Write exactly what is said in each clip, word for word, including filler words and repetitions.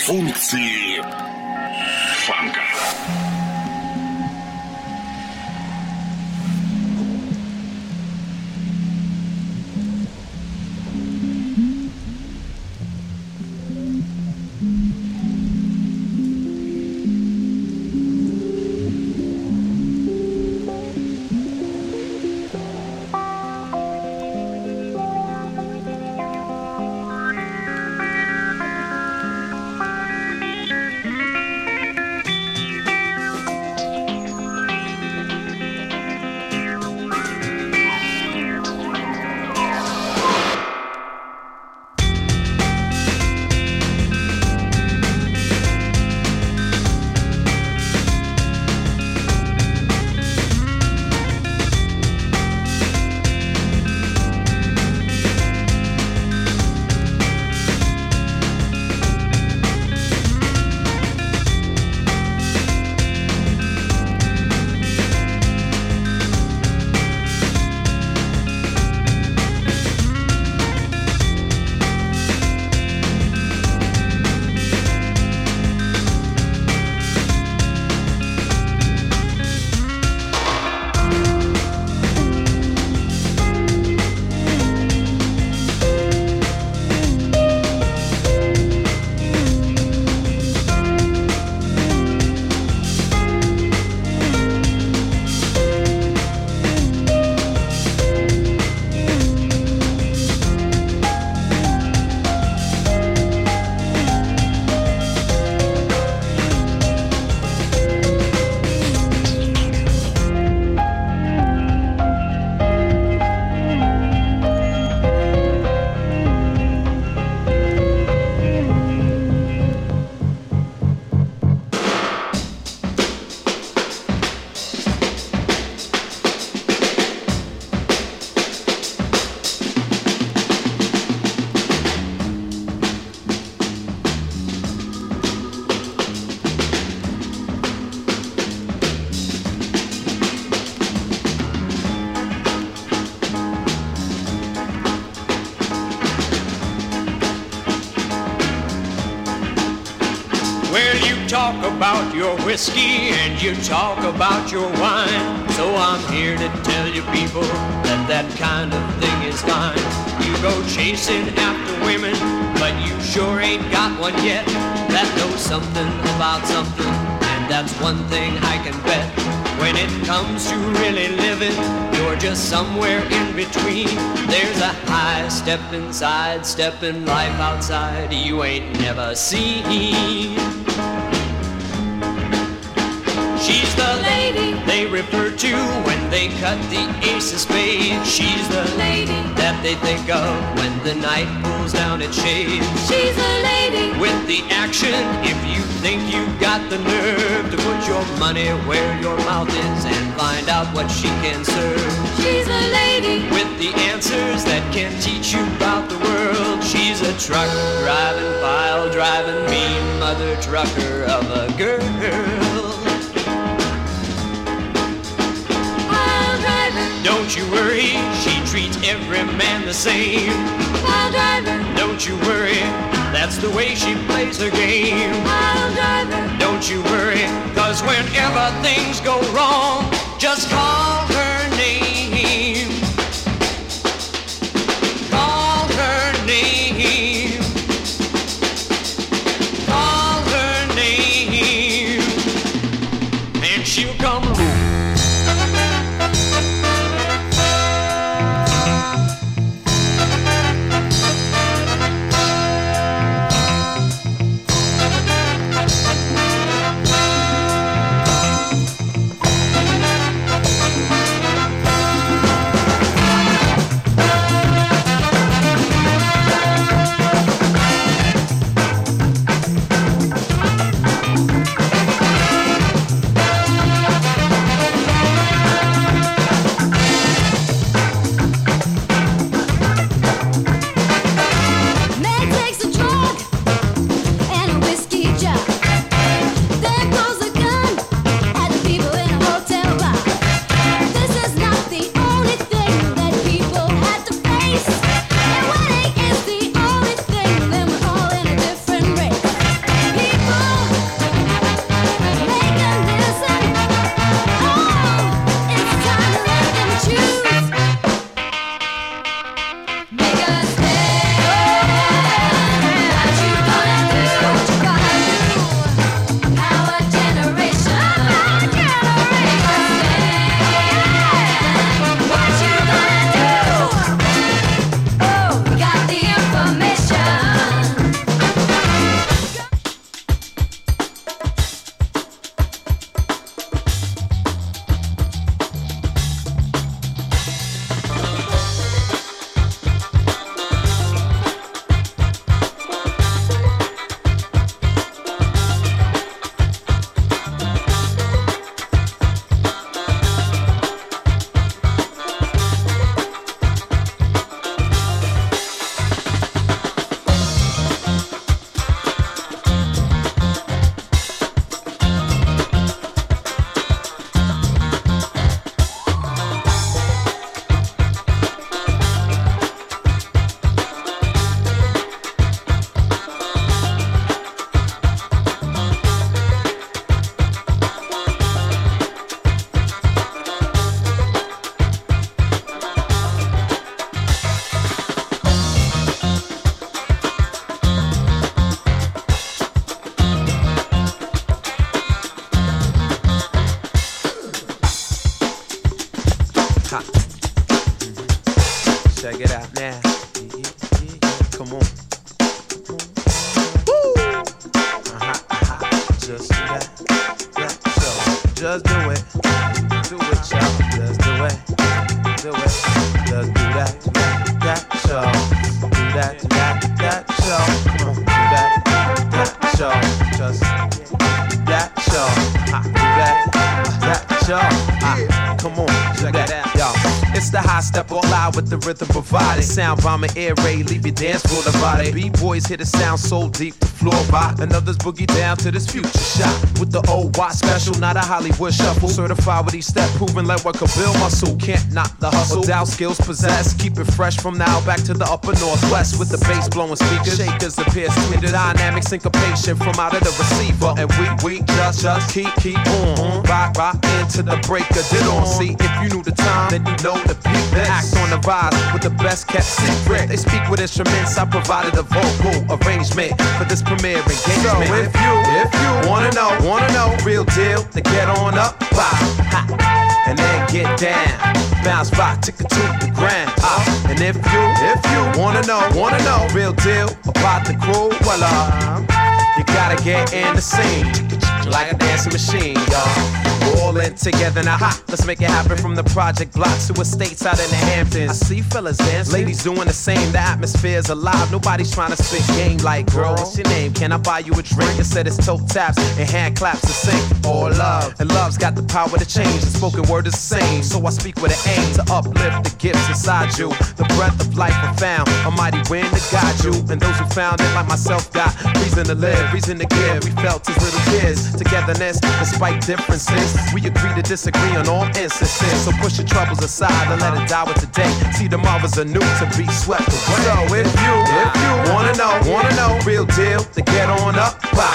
Функции фанка. Talk about your whiskey and you talk about your wine. So I'm here to tell you people that that kind of thing is fine. You go chasing after women, but you sure ain't got one yet that knows something about something, and that's one thing I can bet. When it comes to really living, you're just somewhere in between. There's a high step inside, step in life outside you ain't never seen. She's the lady they refer to when they cut the ace of spades. She's the lady that they think of when the night pulls down its shades. She's the lady with the action if you think you've got the nerve to put your money where your mouth is and find out what she can serve. She's the lady with the answers that can teach you about the world. She's a truck driving, pile driving, mean mother trucker of a girl. Don't you worry, she treats every man the same. Pile driver. Don't you worry, that's the way she plays her game. Pile driver. Don't you worry, cause whenever things go wrong, just call her name. Call her name. Call her name. And she'll come home. just do it. Do it, y'all. Just do it. Do it. Just do that, do that, that, y'all. Do that, do that, that, y'all. Come on, do that, that, y'all. Just that, y'all. Ha, do that, that, y'all. Ha, come on, check that out, y'all. It's the high step all out with the rhythm provided. Sound bomber air raid, leave your dance floor divided. B-boys hit a sound so deep the floor rock. And others boogie down to this future shot. With the old watch special, not a Hollywood shuffle. Certified with each step, proving like what could build muscle. Can't knock the hustle, doubt skills possessed. Keep it fresh from now back to the upper northwest. With the bass blowing speakers, shakers appear tweeted. Dynamic syncopation from out of the receiver. And we, we just, just keep, keep on. Rock, rock into the break of it on. See, if you knew the time, then you know the beat. Act on the rise with the best kept secret. They speak with instruments, I provided a vocal arrangement for this premiere engagement. So if you, if you wanna know, wanna know, real deal, then get on up, bye, ha, and then get down, bounce back, tick it to the ground. Uh, and if you, if you wanna know, wanna know, real deal about the crew, well, uh, you gotta get in the scene, like a dancing machine, y'all. All in together now, ha, let's make it happen from the project blocks to estates out in the Hamptons. I see fellas dancing, ladies doing the same, the atmosphere's alive. Nobody's trying to spit game like, girl, what's your name? Can I buy you a drink? Instead it's toe taps and hand claps to sing. All love, and love's got the power to change. The spoken word is the same, so I speak with an aim to uplift the gifts inside you. The breath of life I found, a mighty wind to guide you. And those who found it like myself got reason to live, reason to give. We felt as little kids, togetherness despite differences. We agree to disagree on all instances. So push your troubles aside and let it die with today. See tomorrow's anew to be swept away. So if you, if you wanna know, wanna know, real deal, then get on up, bye,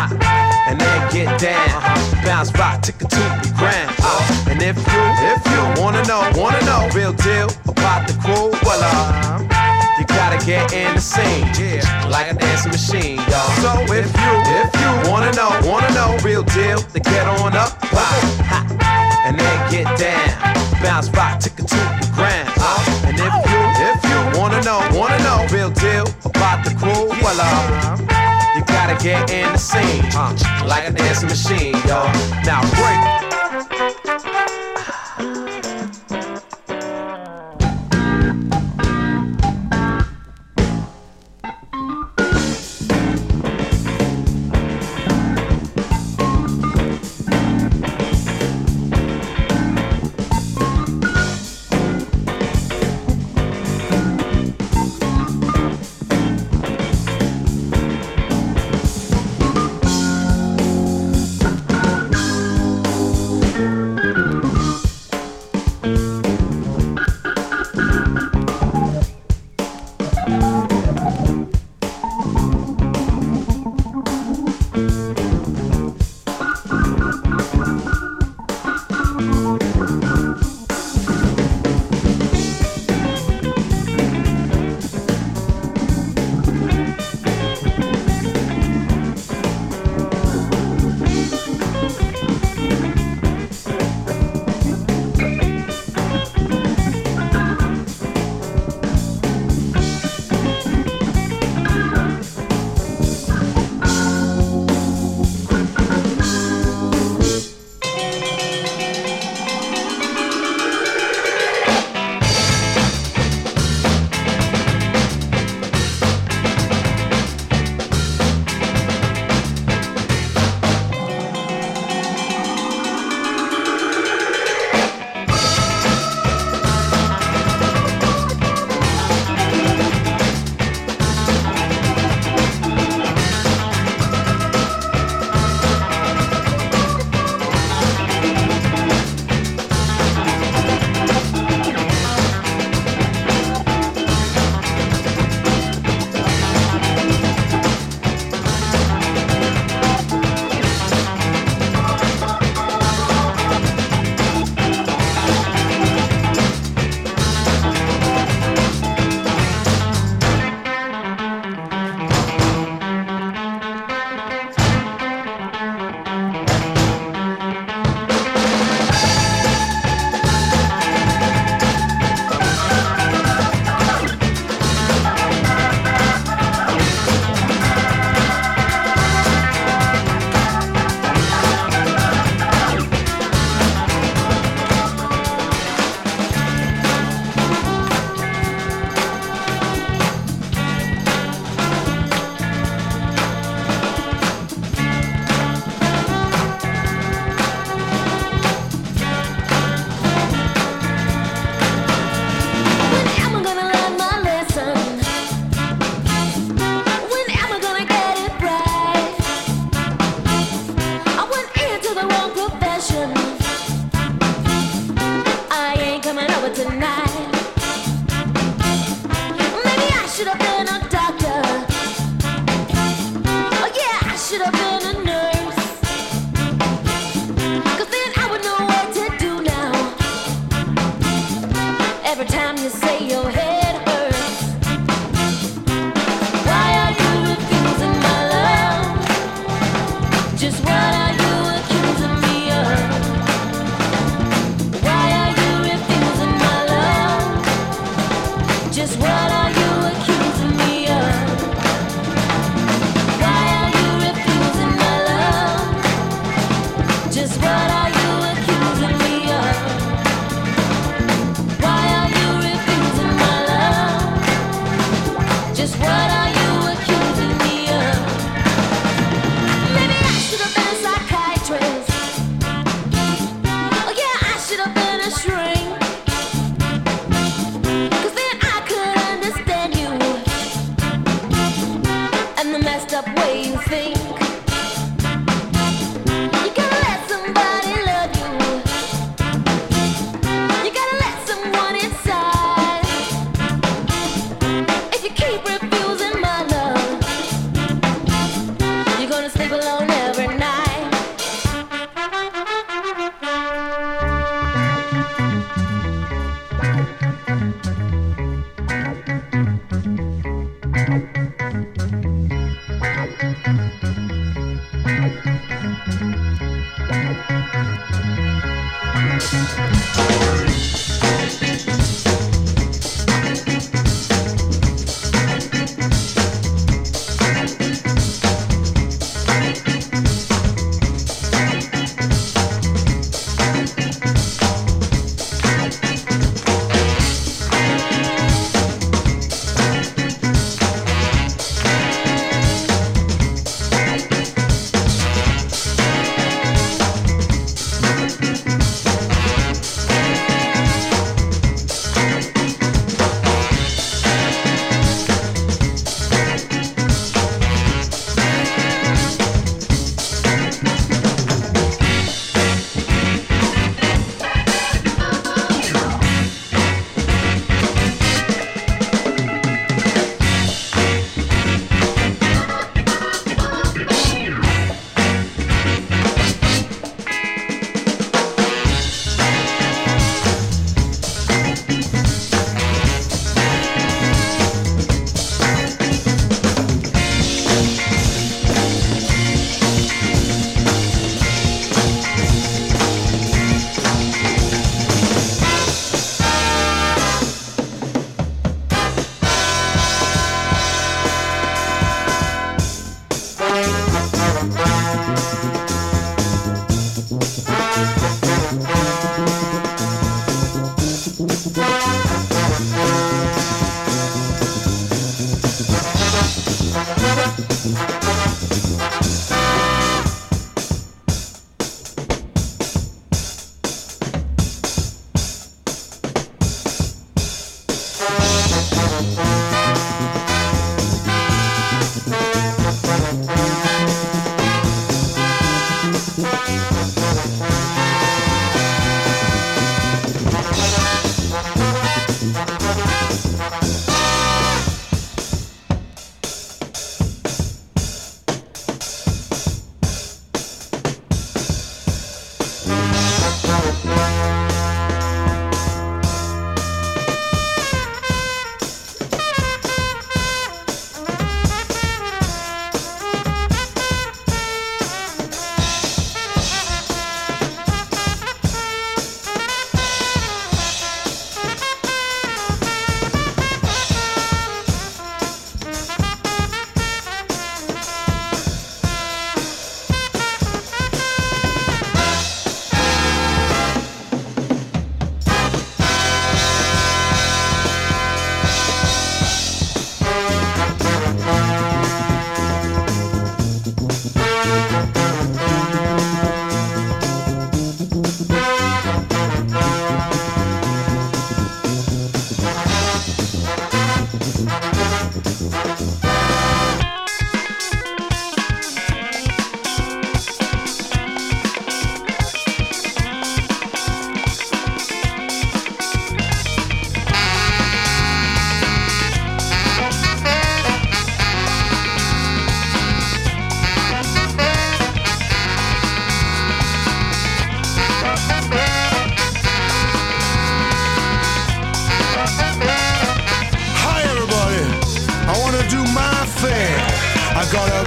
ha, and then get down, bounce back, tick it to the ground. Uh, and if you, if you wanna know, wanna know, real deal about the crew, well, uh, you gotta get in the scene, yeah, like a dancing machine, y'all. So if you, if you wanna know, wanna know, real deal, then get on up, bye, ha, and then get down, bounce back, tick it to the ground. Uh, and if you, if you wanna know, wanna know, real deal about the crew, well, uh, you gotta get in the scene, uh, like a dancing machine, y'all. Now break.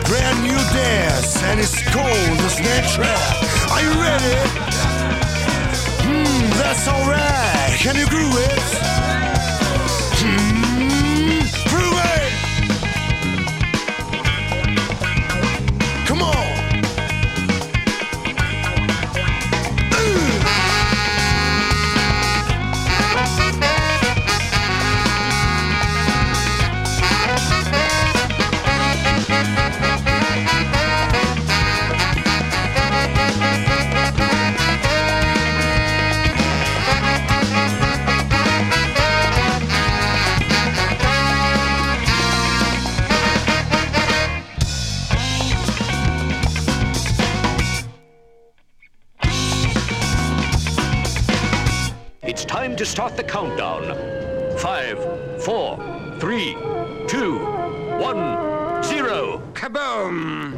brand new dance, and it's called the Snare Trap. Are you ready? Hmm, that's alright. Can you groove it? Hmm, groove it. Come on. It's time to start the countdown. Five, four, three, two, one, zero. Kaboom!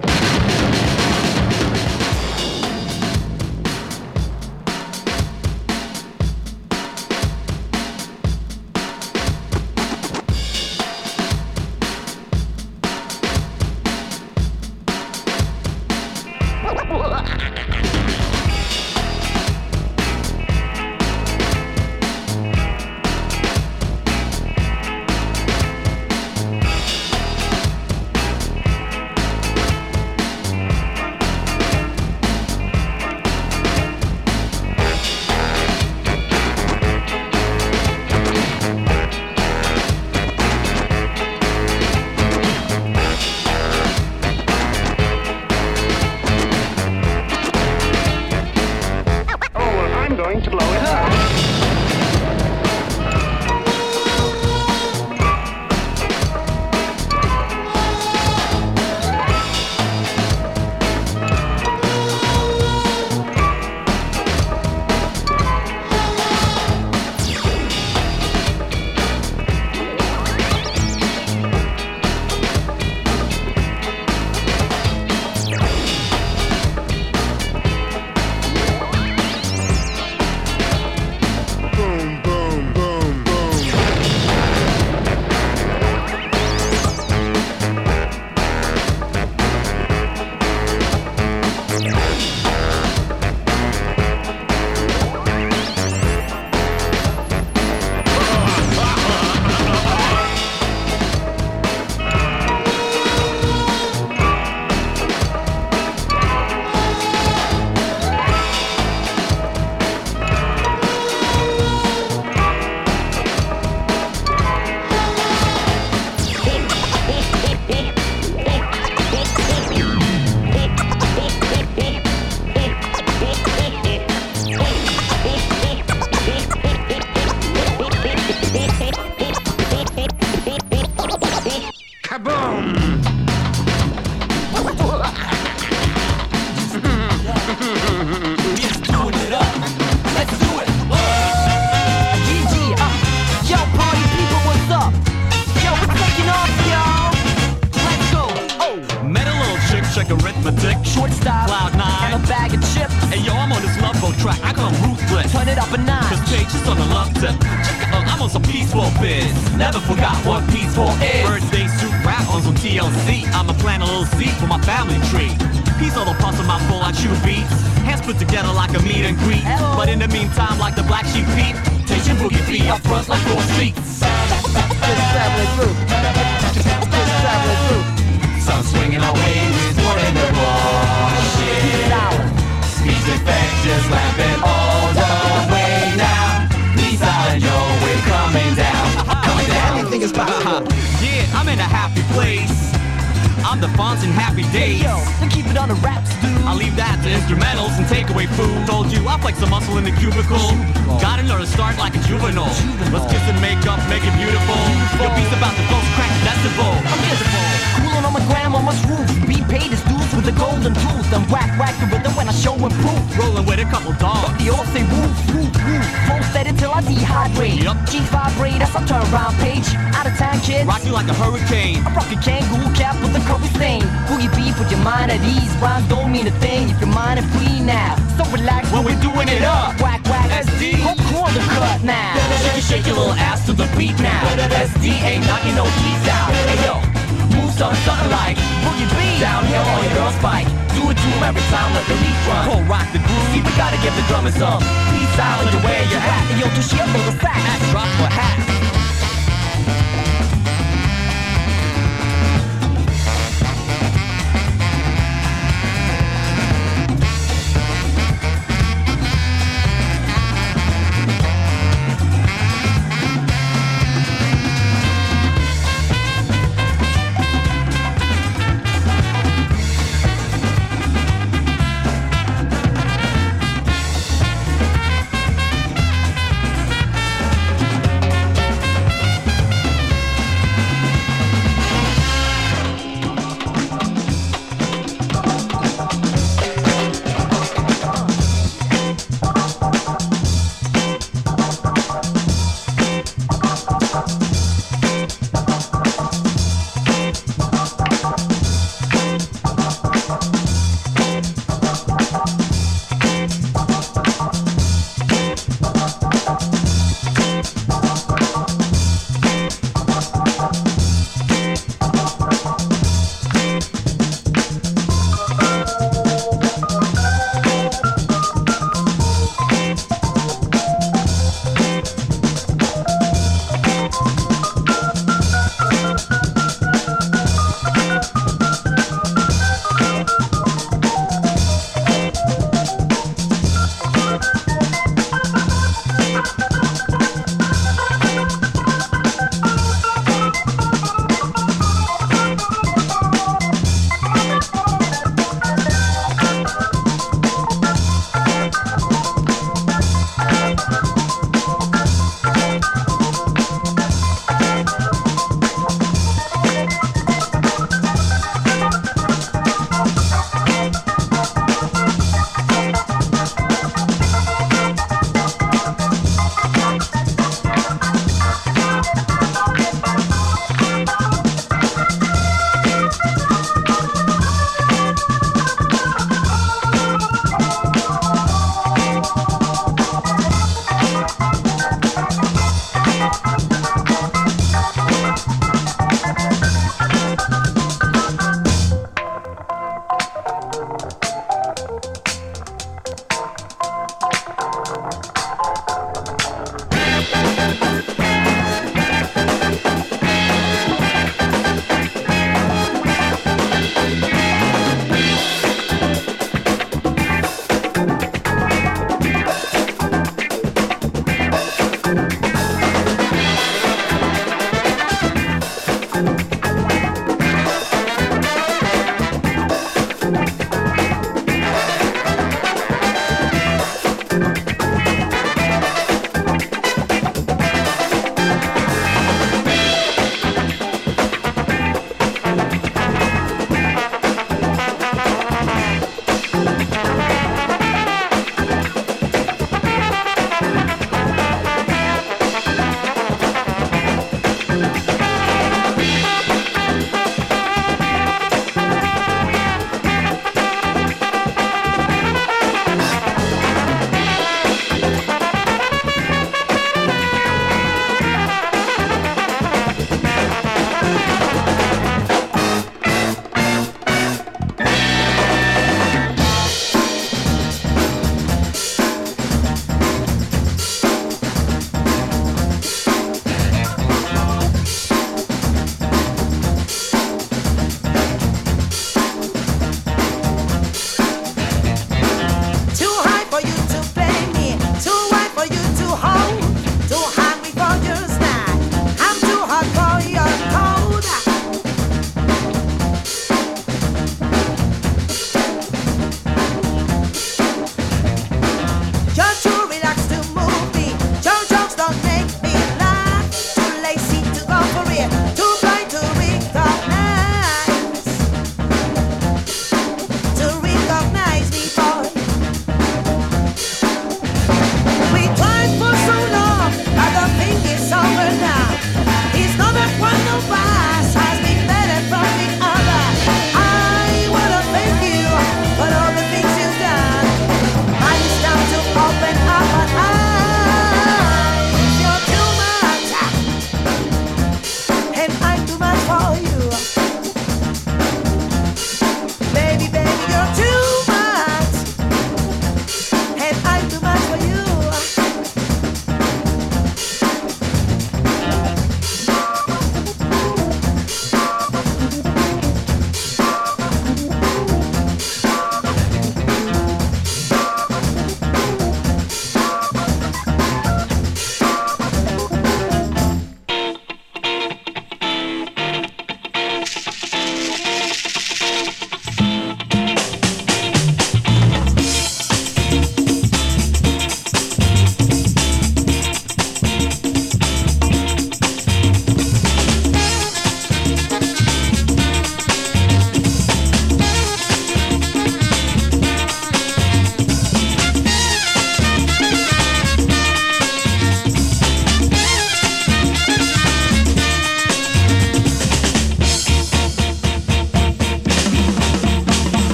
Shake your little ass to the beat now. S D ain't knocking no keys out. Hey yo, move son, something like Boogie Beat, downhill on your girl's bike. Do it to him every time, let the beat run. Cold rock the groove, see, we gotta give the drummers some peace out with the way you're at. And yo, to shit for the sack, act drop for hat.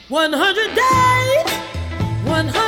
one hundred days, one hundred